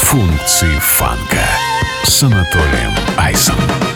Функции фанка с Анатолием Айсом.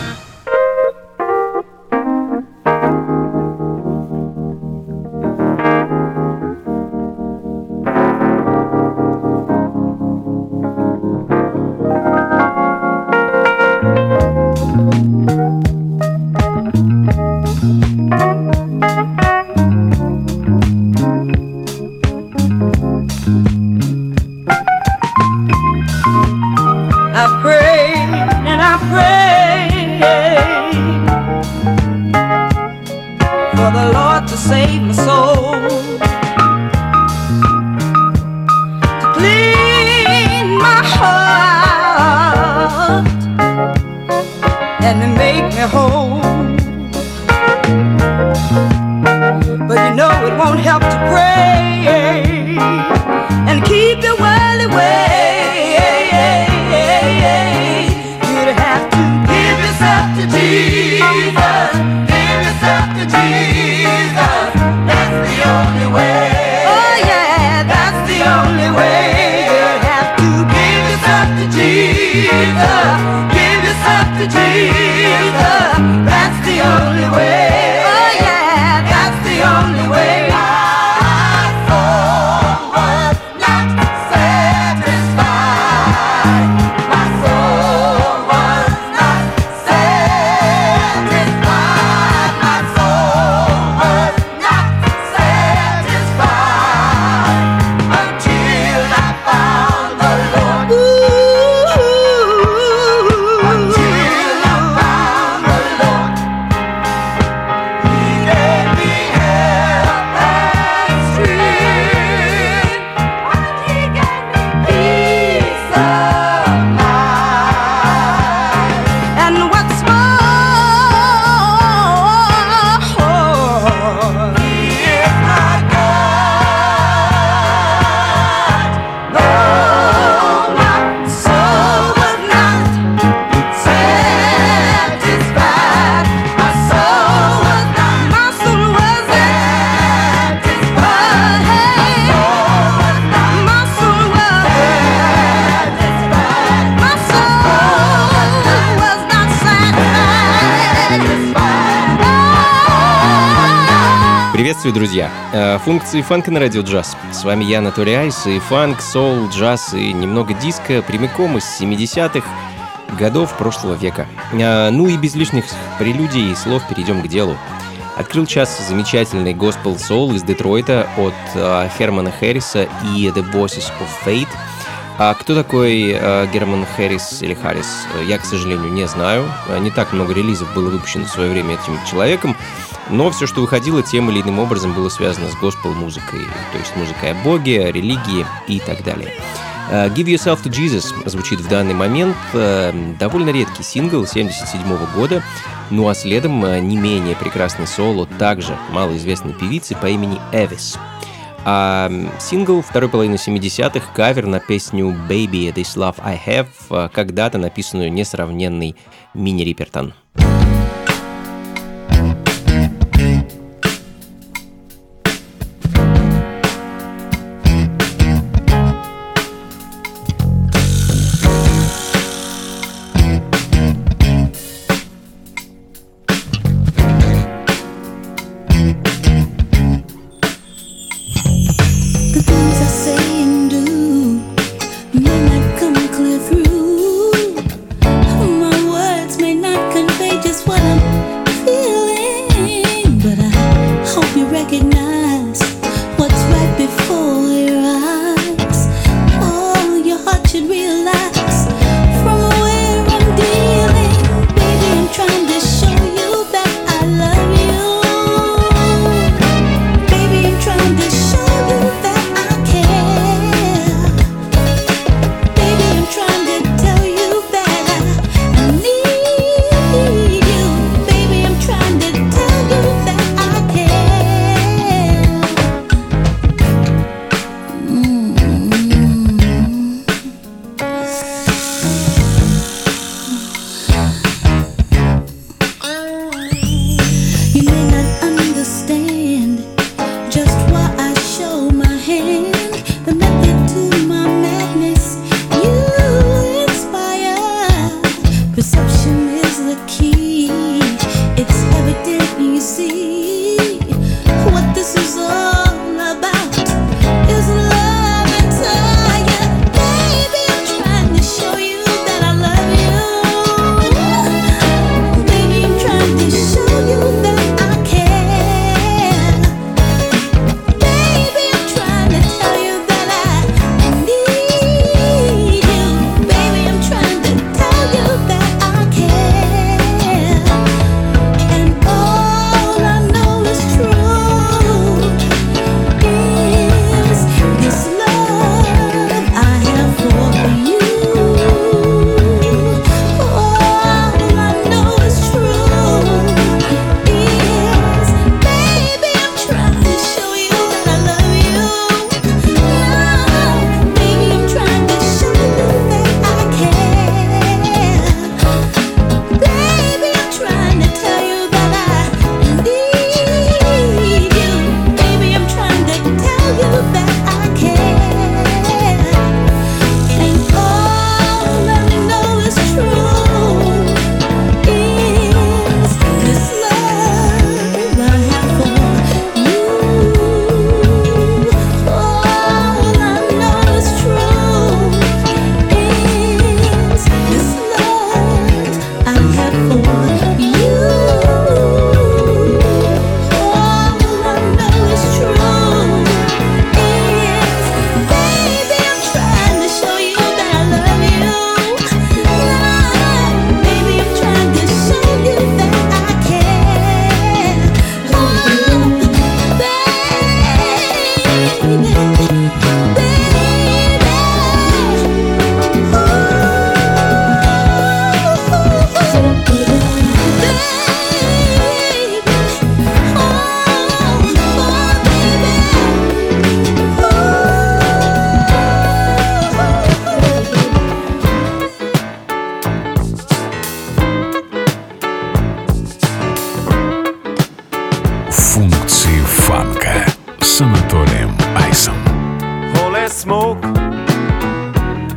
Приветствую, друзья! Функции фанка на радио джаз. С вами я, Анатолий Айс, и фанк, соул, джаз и немного диска прямиком из 70-х годов прошлого века. Ну и без лишних прелюдий и слов перейдем к делу. Открыл час замечательный госпел соул из Детройта от Хермана Харриса и The Voices of Fate. А кто такой Герман Харрис или Харрис, я, к сожалению, не знаю. Не так много релизов было выпущено в свое время этим человеком, но все, что выходило, тем или иным образом было связано с госпел-музыкой, то есть музыкой о Боге, о религии и так далее. Give Yourself to Jesus звучит в данный момент, довольно редкий сингл 1977 года, ну а следом не менее прекрасный соло также малоизвестной певицы по имени Эвис. А сингл второй половины 70-х, кавер на песню «Baby, This Love I Have», когда-то написанную несравненный Минни Рипертон. May not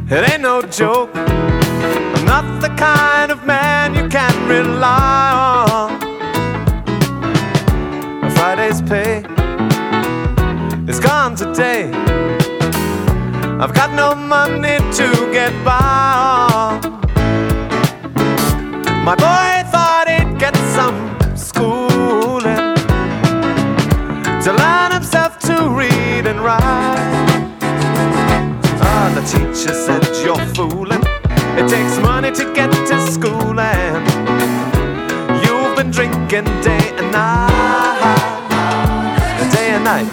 It ain't no joke. I'm not the kind of man you can rely on. Friday's pay is gone today. I've got no money to get by on. My boy thought he'd get some schooling to learn himself to read and write. Ah, the teacher said, you're fooling. It takes money to get to school, and you've been drinking day and night. Day and night.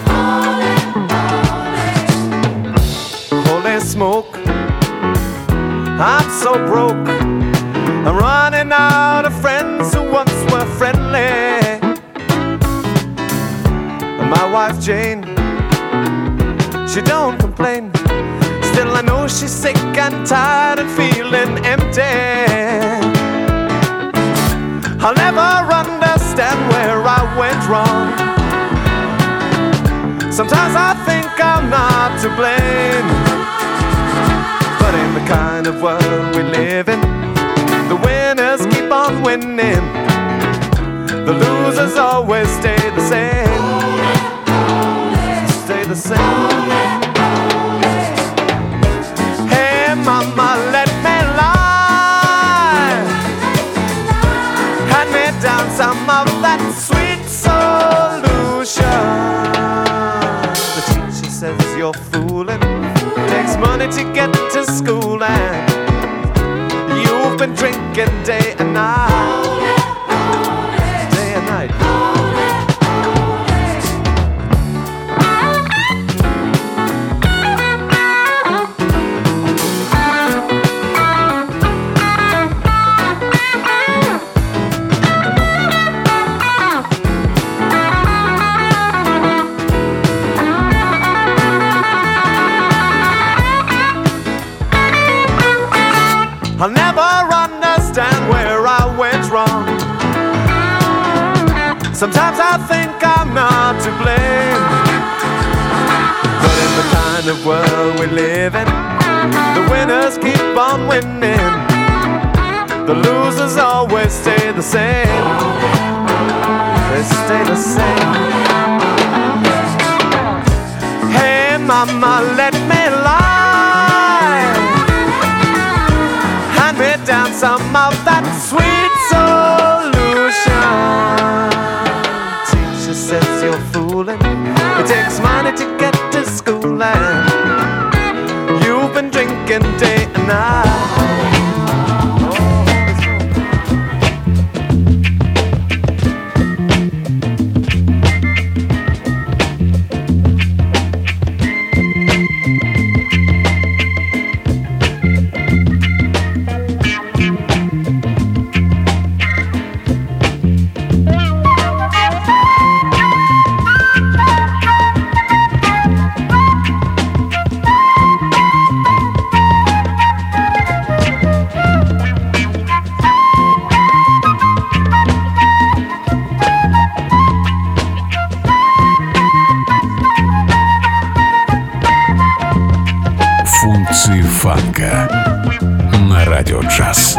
Holy smoke, I'm so broke. I'm running out of friends who once were friendly. My wife Jane, she don't complain. Still I know she's sick and tired and feeling empty. I'll never understand where I went wrong. Sometimes I think I'm not to blame, but in the kind of world we live in, the winners keep on winning. The losers always stay the same. Stay the same. Hey mama, let me lie. Hand me down some of that sweet solution. The teacher says you're fooling. Takes money to get to school, and you've been drinking day and night. Day and night. I'll never understand where I went wrong. Sometimes I think I'm not to blame, but in the kind of world we live in, the winners keep on winning. The losers always stay the same. They stay the same. Hey mama, let me lie. Down some of that sweet solution. Teacher says you're fooling. It takes money to get to school, and you've been drinking day and night. Функции фанка на радио джаз.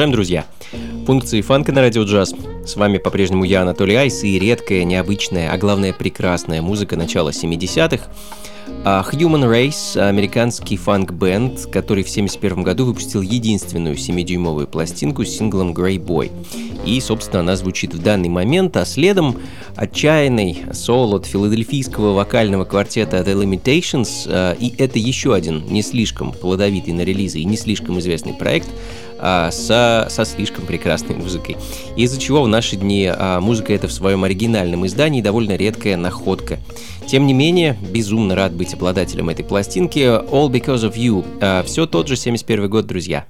Продолжаем, друзья. Функции фанка на радио джаз. С вами по-прежнему я, Анатолий Айс, и редкая, необычная, а главное прекрасная музыка начала 70-х. Human Race — американский фанк-бенд, который в 1971 году выпустил единственную 7-дюймовую пластинку с синглом Grey Boy. И, собственно, она звучит в данный момент, а следом отчаянный соло от филадельфийского вокального квартета The Limitations, и это еще один не слишком плодовитый на релизы и не слишком известный проект со слишком прекрасной музыкой. Из-за чего в наши дни музыка эта в своем оригинальном издании довольно редкая находка. Тем не менее, безумно рад быть обладателем этой пластинки. All Because of You. Все тот же 71 год, друзья.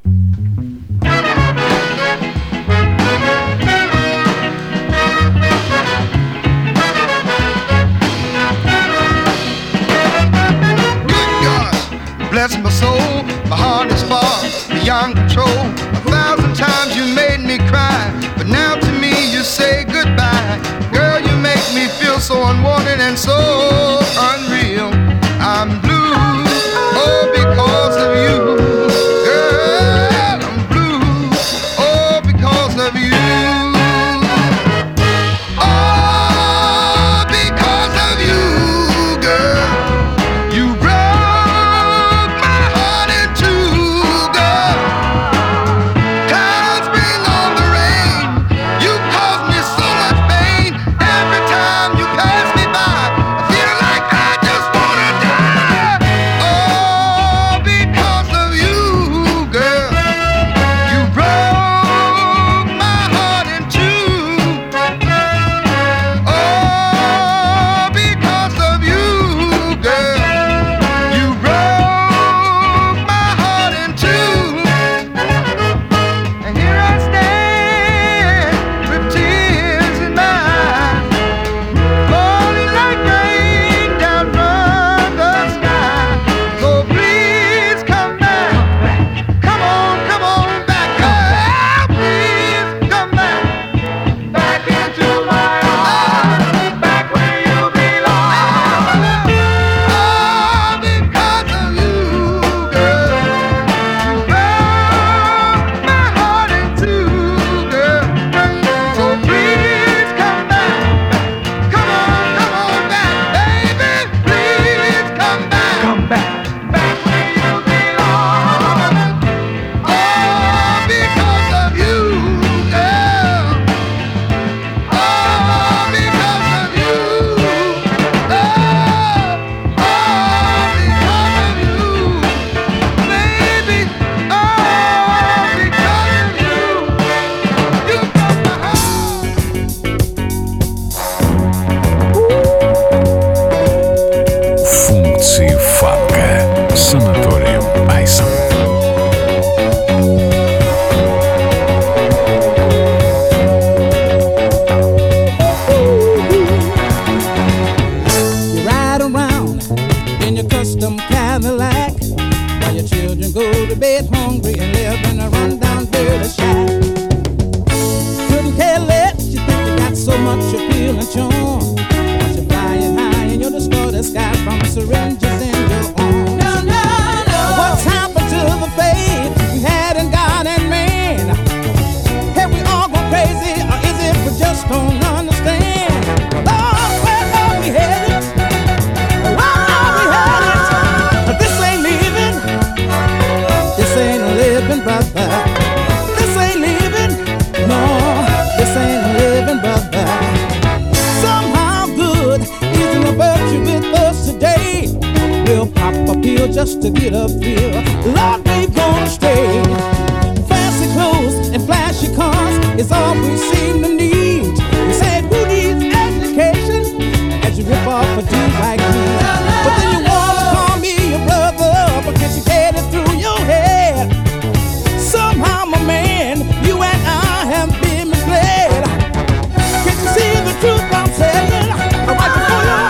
Bless my soul, my heart is far beyond control. 1,000 times you made me cry, but now to me you say goodbye. Girl, you make me feel so unwanted and so unreal. I'm blue, oh, because of you. Girl, I'm blue, oh, because of you. Oh, because of you, girl. You just to get a feel. Lord, we gonna stay. Fancy clothes and flashy cars is all we seem to need. We said, who needs education as you rip off a dude like me? But then you wanna call me your brother, but can't you get it through your head? Somehow, my man, you and I have been misled. Can't you see the truth I'm telling? Right before your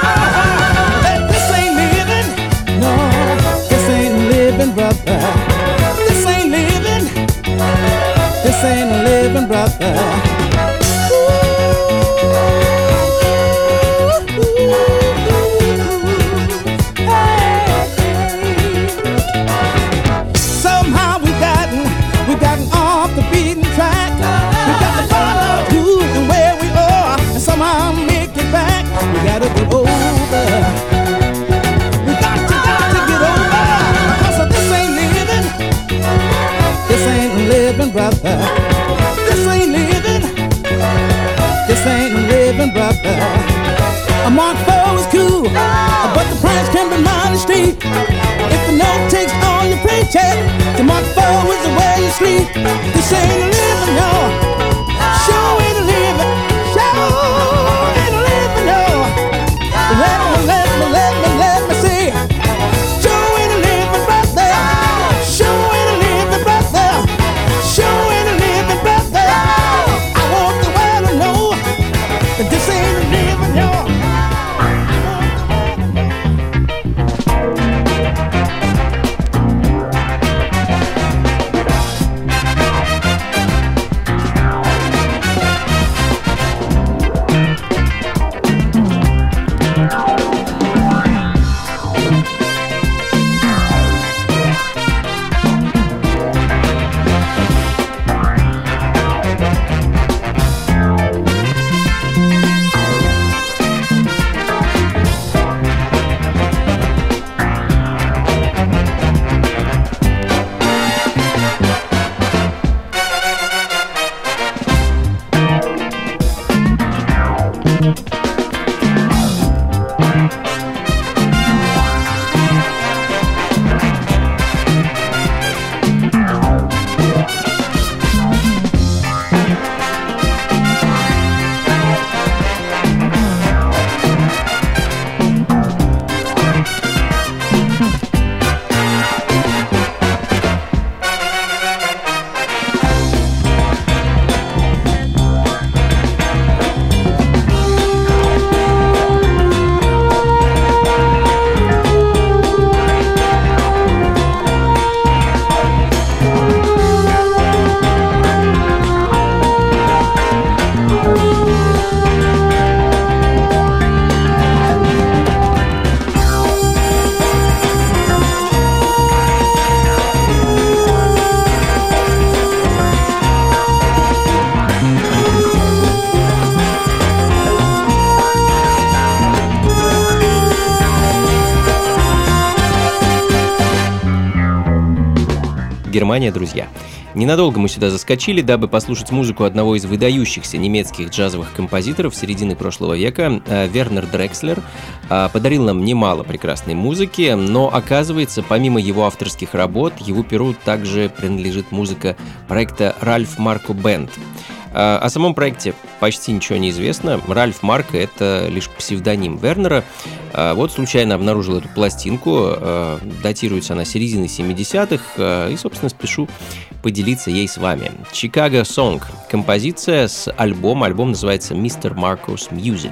eyes. This ain't living, no. This ain't living, brother. This ain't living. This ain't living, brother. check. The mark forward is the way you sleep. This ain't a living, y'all. Sure ain't a living. Sure ain't a living, y'all. Let me see. Sure ain't a living, brother. Sure ain't a living, brother. Sure ain't a living, brother. I want the world to know that this ain't a living, y'all. Германия, друзья. Ненадолго мы сюда заскочили, дабы послушать музыку одного из выдающихся немецких джазовых композиторов середины прошлого века. Вернер Дрекслер подарил нам немало прекрасной музыки, но, оказывается, помимо его авторских работ, его перу также принадлежит музыка проекта Ральф Марко Бэнд. О самом проекте почти ничего не известно. Ральф Марко — это лишь псевдоним Вернера. Вот случайно обнаружил эту пластинку. Датируется она серединой 70-х. И, собственно, спешу поделиться ей с вами. Chicago Song. Композиция с альбома. Альбом называется Mr. Marco's Music.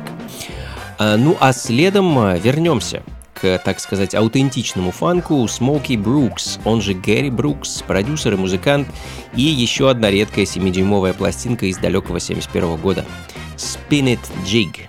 Ну а следом вернемся к, так сказать, аутентичному фанку. Смоки Брукс, он же Гэри Брукс, продюсер и музыкант, и еще одна редкая 7-дюймовая пластинка из далекого 71 года. Spin It Jig.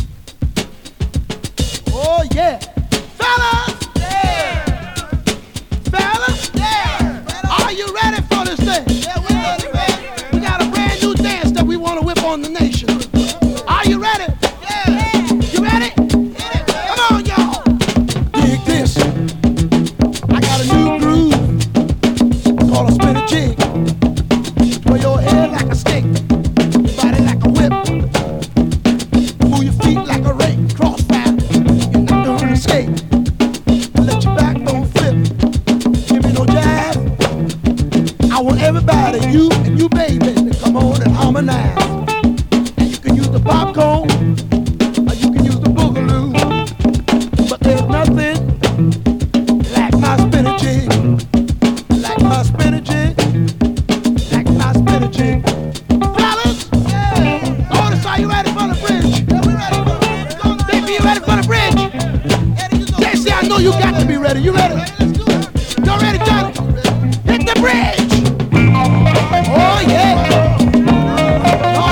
Oh yeah, fellas, yeah, fellas, yeah. Are you ready for this thing? Yeah, we're ready. We got a brand new dance that we want to whip on the nation. Are you ready? Yeah. You ready? Come on, y'all. Dig this. I got a new groove called a spin a jig. Twirl your head like a stick, body like a whip. Move your feet like a rake, crossfire. You're not gonna escape. Let your backbone flip. Give me no jive. I want everybody, you and you baby, to come on and harmonize. And you can use the popcorn, or you can use the boogaloo. But there's nothing like my spinach jig. Like my spinach jig. Like my spinach jig. Fellas, yeah. Otis, are you ready for the bridge? Yeah, we're ready for the bridge. Baby, you ready for the bridge? Jay-Z, I know you got to be ready. You ready? Y'all ready, Johnny? Hit the bridge. Oh, yeah.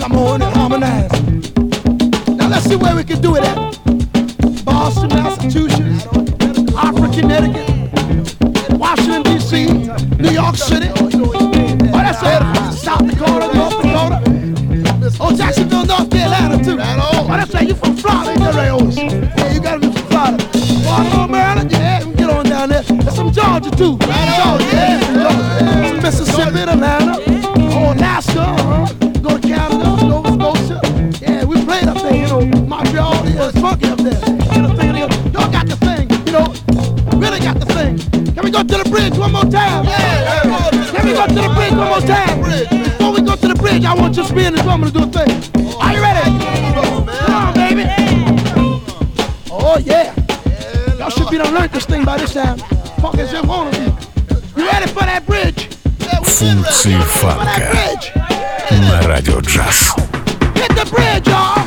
come on and harmonize. Now let's see where we can do it at. Boston, Massachusetts, Hartford, Connecticut, Washington, D.C., New York City. Oh, that's it. South Dakota, North Dakota. Oh, Jacksonville, North Carolina, too. Oh, that's right. You from Florida, yeah, you gotta be from Florida. Baltimore, Maryland, yeah, we get on down there. There's some Georgia, too. Georgia, yeah. Some Mississippi, Atlanta. Oh, Alaska, go to Canada, Nova Scotia. Yeah, we played up there, Montreal, yeah, it's funky up there. Y'all got the thing, really got the thing. Can we go to the bridge one more time? Yeah. Can we go to the bridge one more time? Before we go to the bridge, I want just me and the drummer to do a thing. Are you ready? Come on, baby. Oh, yeah. Y'all should be done learned this thing by this time. Funk as you wanna be. You ready for that bridge? Функции фанка на Радио Джаз. Hit the bridge, y'all.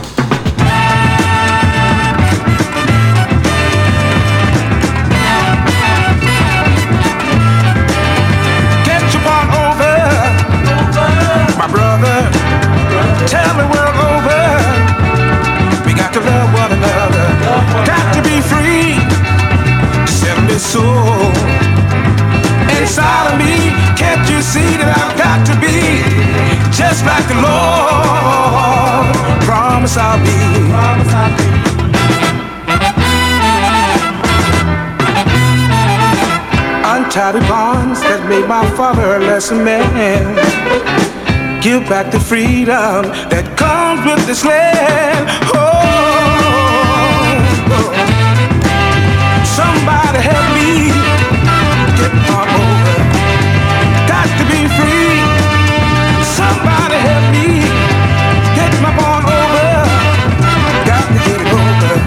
Get your part over, my brother. Tell the world over. We got to love one another. Got to be free. Set me soul. Inside of me, can't you see that I've got to be just like the Lord? Promise I'll be. Untie the bonds that made my father a lesser man. Give back the freedom that comes with this land. Somebody help me get on over. Got to be free. Somebody help me get my born over. Got to get it over.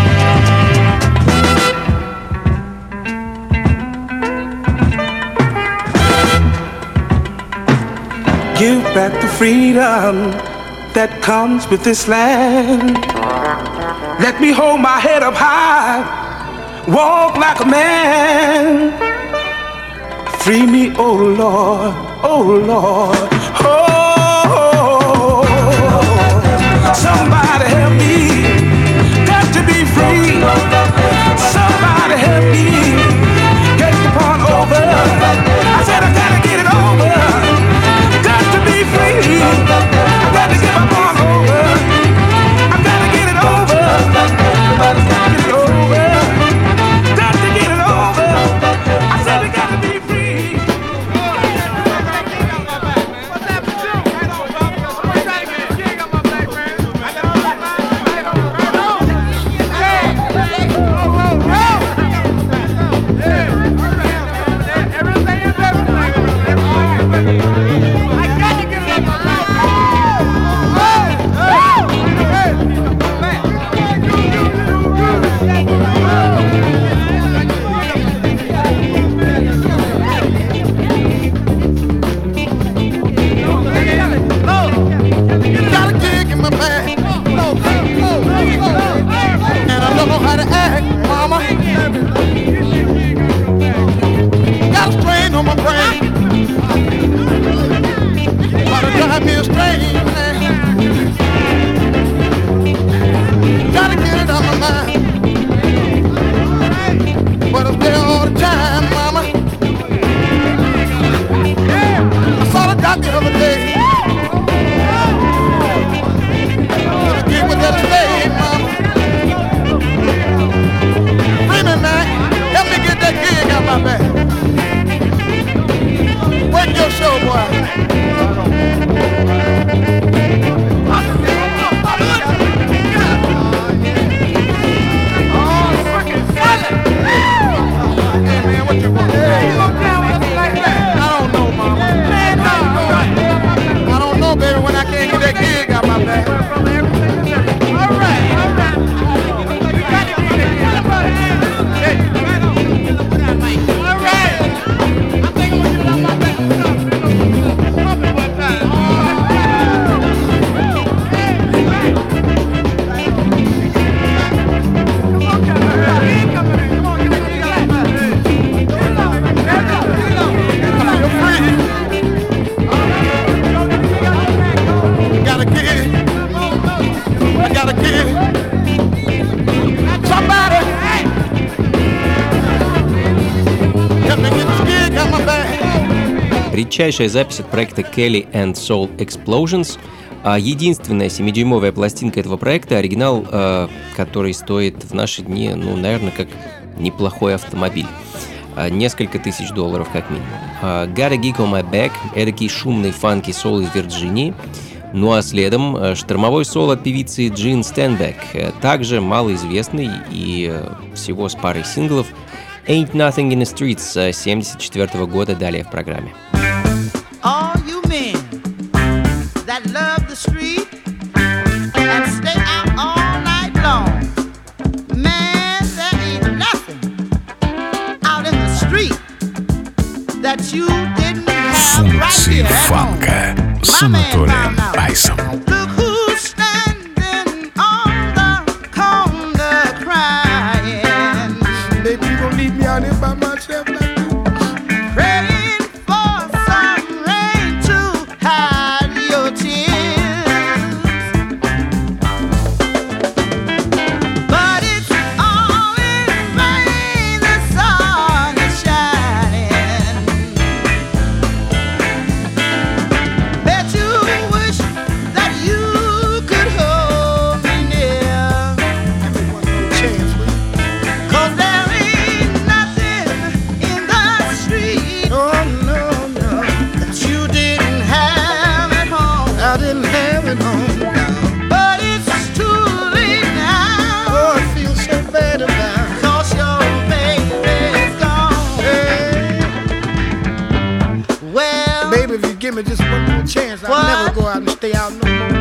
Give back the freedom that comes with this land. Let me hold my head up high. Walk like a man. Free me, oh Lord, oh Lord. Oh, somebody help me. Got to be free. Somebody help me. Get the part over. I said I gotta get it over. Got to be free. I gotta get my part over. I gotta get it over. Get it over. Got to get it over. I said I gotta be free. What's that for you? What's that for you? Got my black man. I got all that. Everything is everything. I got to get it up my back. Got a kick in my back, and I don't know how to act, mama. Got a strain on my brain, but it drive me astray, man. Gotta get it out my mind, but it's there all the time, mama. I saw the doctor the other day. Get with that slave, mama. Free me, man. Help me get that gig out my back. Work your show, boy. Hey, man, what you want? I don't know, mama. Man, no. редчайшая запись от проекта Kelly and Soul Explosions. Единственная 7-дюймовая пластинка этого проекта, оригинал, который стоит в наши дни, наверное, как неплохой автомобиль. Несколько тысяч $1000 как минимум. Got a Gig on My Back, эдакий шумный фанки-сол из Вирджинии. Ну а следом штормовой соло от певицы Джин Стенбек, также малоизвестный и всего с парой синглов. Ain't Nothing in the Streets 1974 года, далее в программе. All you men that love the street and stay out all night long, man, there ain't nothing out in the street that you didn't have right here at home. Функции фанка с Анатолием Айсом. Look who's standing on the corner crying. Baby, you gon' leave me out here by myself like this? Praying for some rain to hide your tears. But it's all in vain, the sun is shining. Bet you wish that you could hold me near. Give me one more chance, will you? 'Cause there ain't nothing in the street Oh, no, no. that you didn't have at home. I didn't have it home. But it's too late now, Oh, I feel so bad about it. 'cause your baby's gone. Hey, Well, baby, if you give me just one more chance, I'll What? never go out and stay out no more.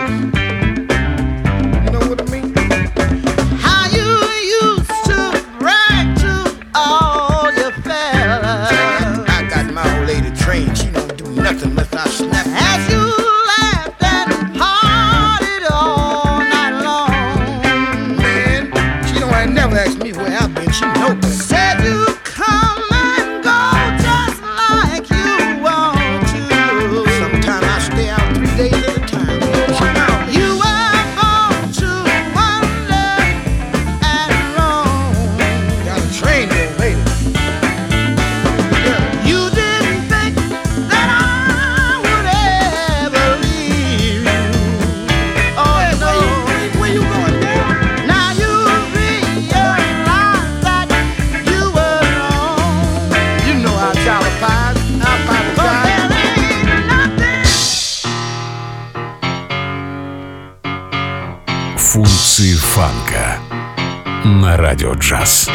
You know what I mean? how you used to brag to all your fellas I got my old lady trained. She don't do nothing unless I snap. as you laughed and partied all night long. Man, she don't ain't never ask me where I've been. She know that. Said you come and go just like you want to. Sometimes I stay out 3 days at a time. She know. You were born to wander and roam. Got a trained old lady. Yeah. You didn't think that I would ever leave you. Oh no. Where you going, man? Now you realize that you were wrong. You know how Charlie Pies. I But apologize. there ain't nothing. Функции фанка на Радио Джаз.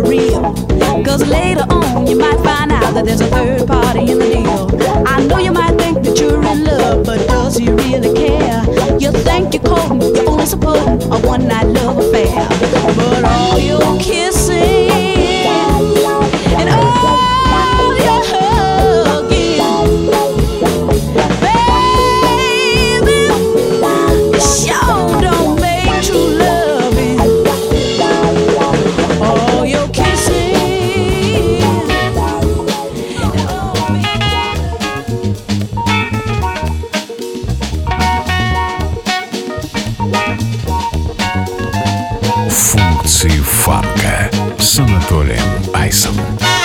real. Cause later on you might find out that there's a third party in the deal. I know you might think that you're in love, but does he really care? You think you're courting, you're only supporting a one-night love affair. But all your kissing and all your hugging, baby, sure don't make true loving. All your kissing and all Функции фанка с Анатолием Айсом.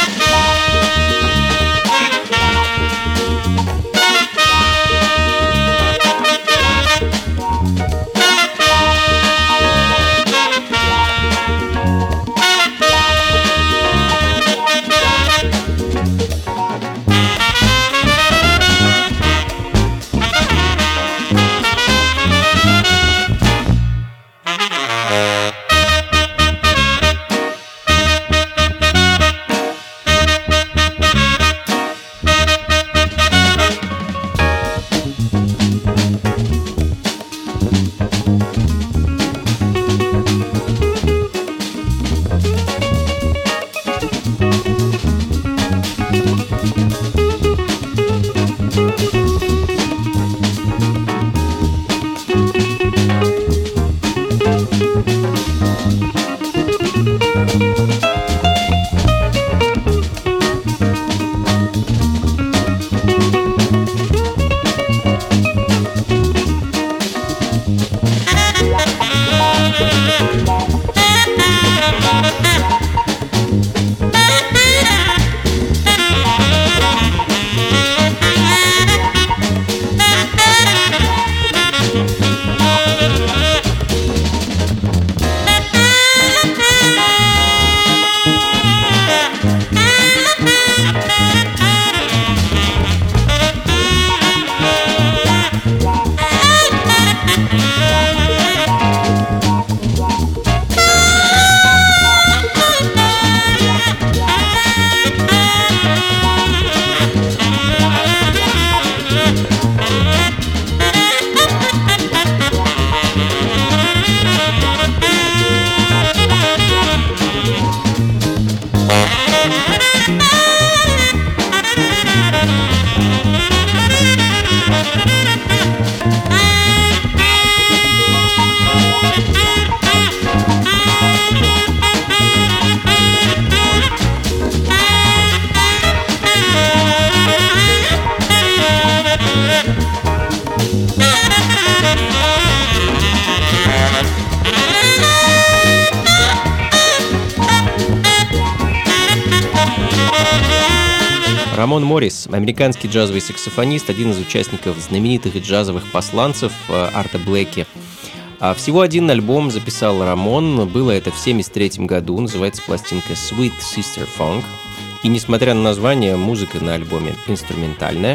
Рамон Моррис, американский джазовый саксофонист, один из участников знаменитых джазовых посланцев Арта Блэки. Всего один альбом записал Рамон, было это в 1973 году, называется пластинка Sweet Sister Funk. И несмотря на название, музыка на альбоме инструментальная.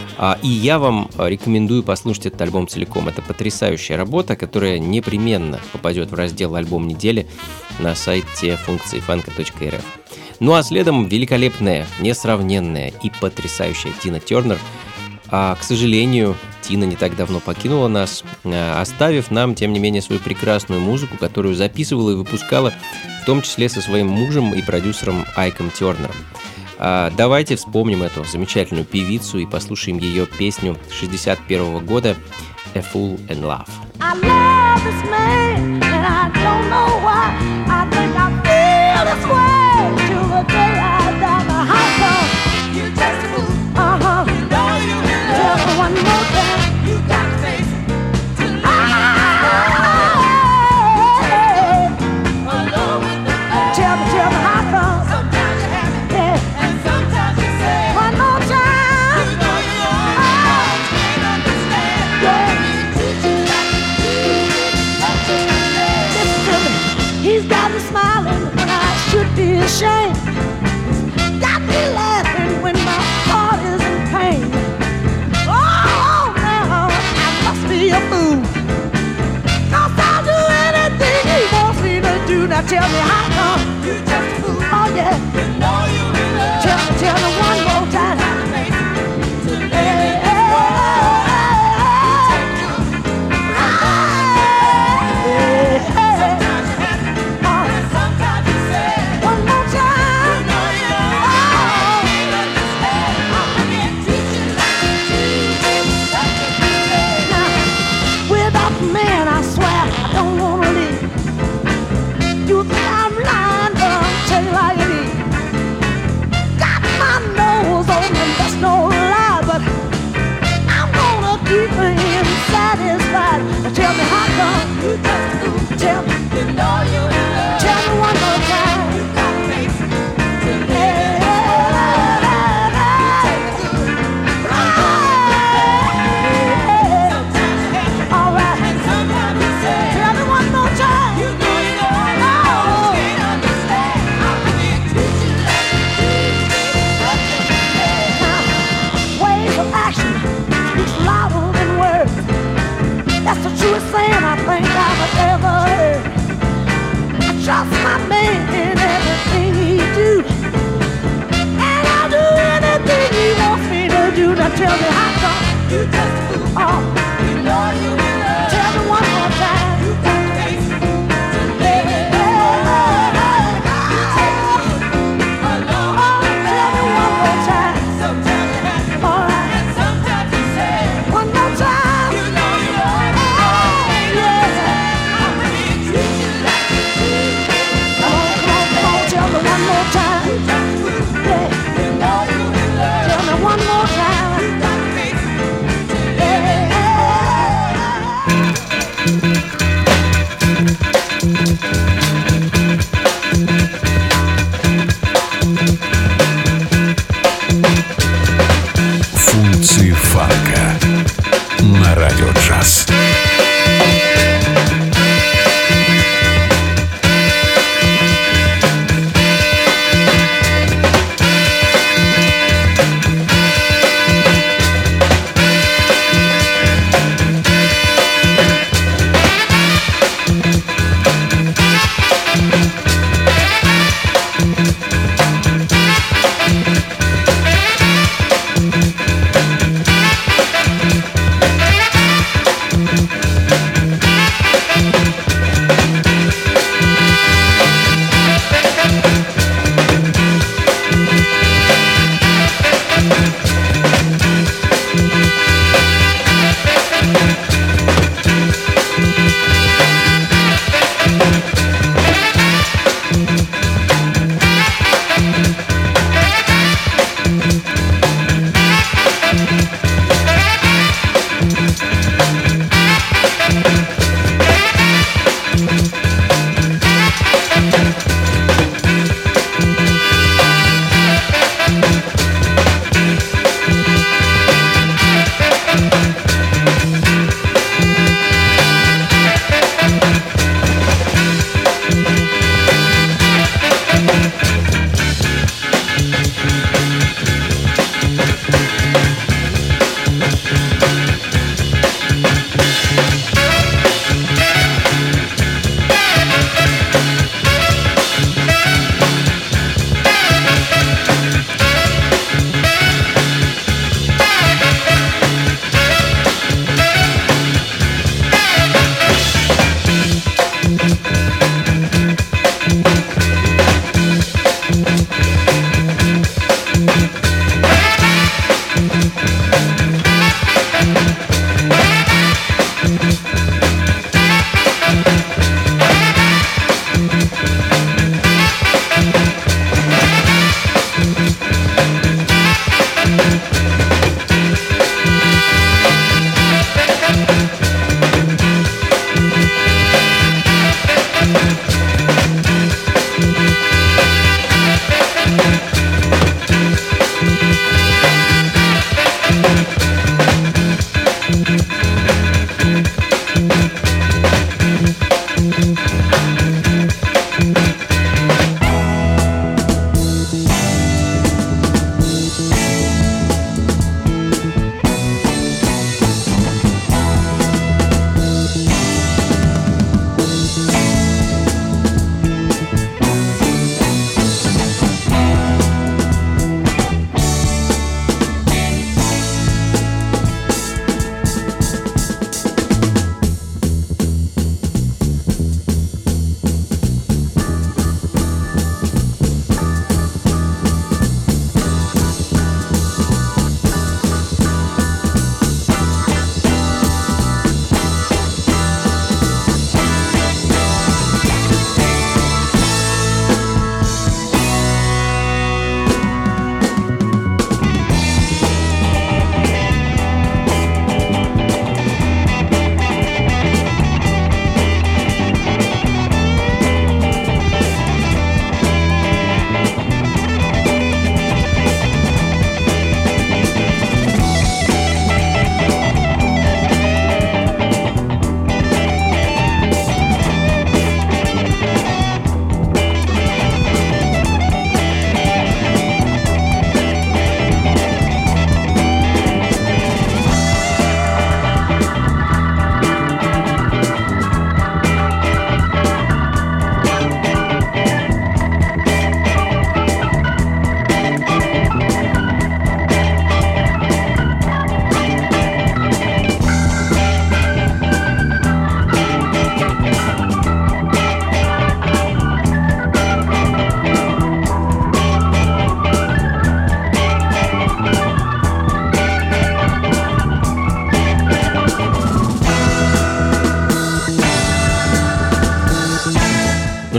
И я вам рекомендую послушать этот альбом целиком. Это потрясающая работа, которая непременно попадет в раздел «Альбом недели» на сайте функциифанка.рф. Ну а следом великолепная, несравненная и потрясающая Тина Тернер. К сожалению, Тина не так давно покинула нас, оставив нам, тем не менее, свою прекрасную музыку, которую записывала и выпускала, в том числе со своим мужем и продюсером Айком Тернером. Давайте вспомним эту замечательную певицу и послушаем ее песню 1961 года «A Fool in Love». I love this man, and I don't know why. I think I feel this way till the day I die. But how come you just a fool? You know you will. Tell me one more time. You got to face it. Tell me how come? Sometimes you're happy, yeah, and sometimes you're sad. One more time. You know you are. Can't understand. Yeah. He's got me smiling when I should be ashamed. Got me laughing when my heart is in pain. Oh, now I must be a fool, 'cause I'll do anything he wants me to do. Now tell me how come you just a fool. tell me how come. Tell me, tell me one more time. That's the truest thing I think I've ever heard. I trust my man in everything he do, and I'll do anything he wants me to do. Now tell me how come you just fool. Oh, you know you in love. Tell me one more time. You got face to live. You take alone. Oh, tell me one more time. Sometimes you have to. All right. And sometimes you say one more time. You know you love. Tell me one more time. Yeah. Tell me one more time. Yeah.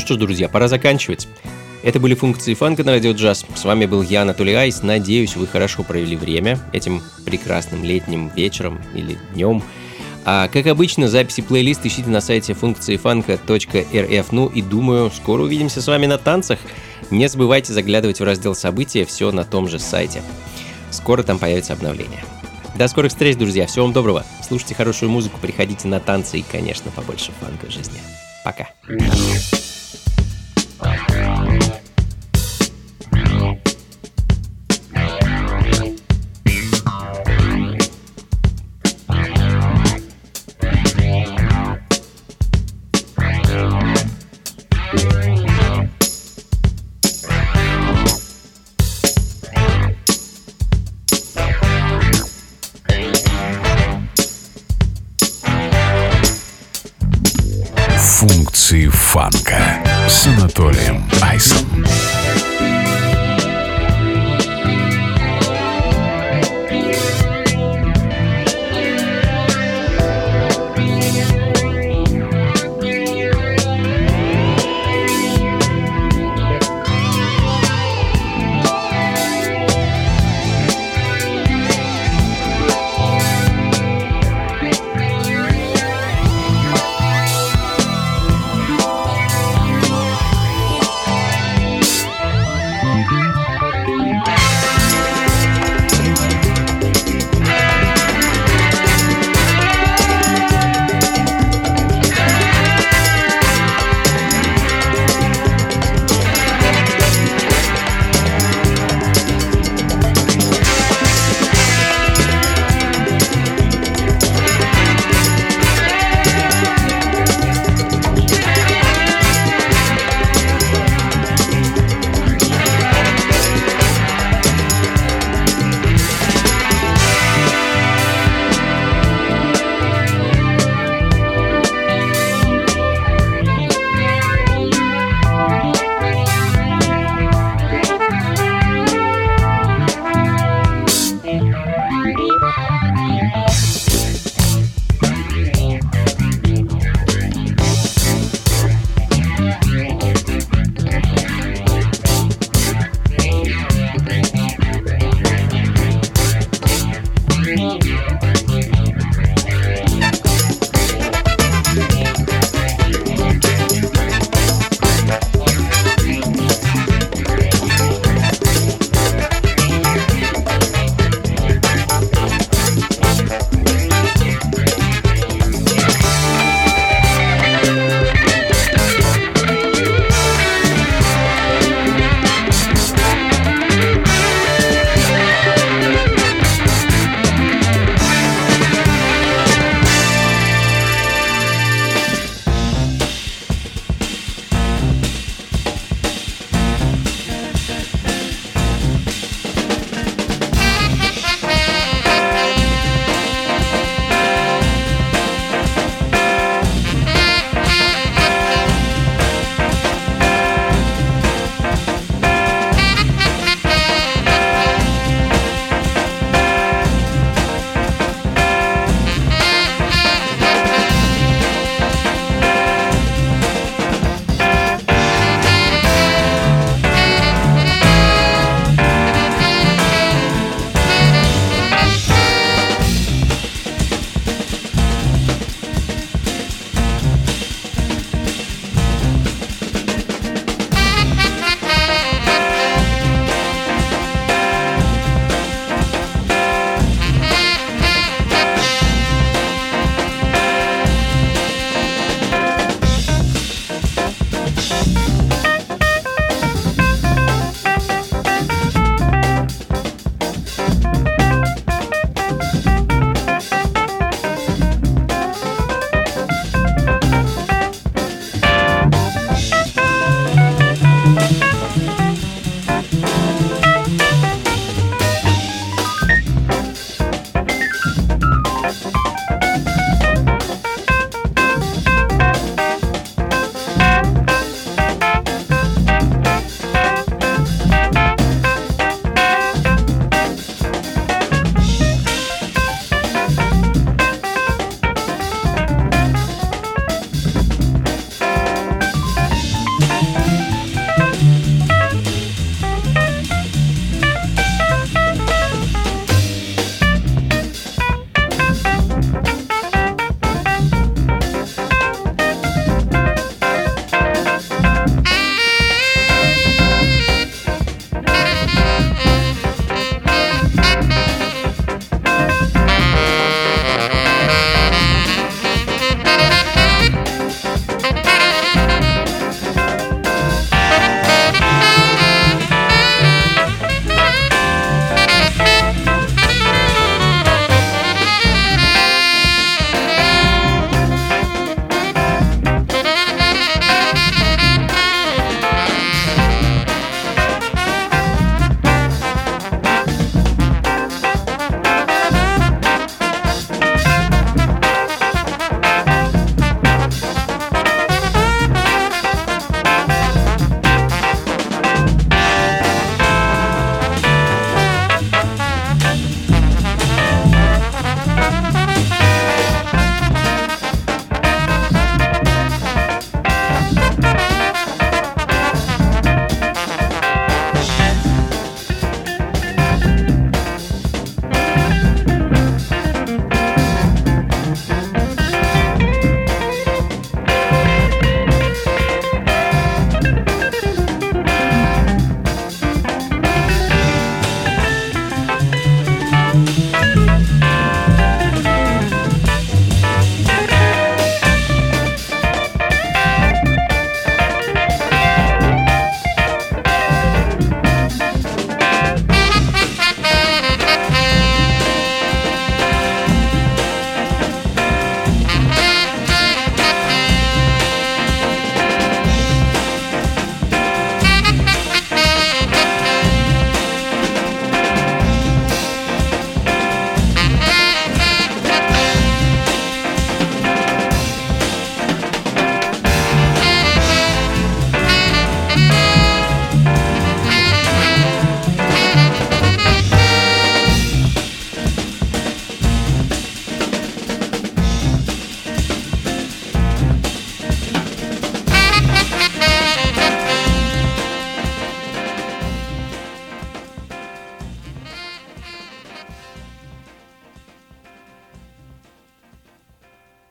что ж, друзья, пора заканчивать. Это были функции фанка на радио джаз. С вами был я, Анатолий Айс. Надеюсь, вы хорошо провели время этим прекрасным летним вечером или днем. А как обычно, записи плейлист ищите на сайте функциифанка.рф. Ну и думаю, скоро увидимся с вами на танцах. Не забывайте заглядывать в раздел события, все на том же сайте. Скоро там появится обновление. До скорых встреч, друзья. Всего вам доброго. Слушайте хорошую музыку, приходите на танцы и, конечно, побольше фанка в жизни. Пока. Функции фанка с Анатолием Айсом.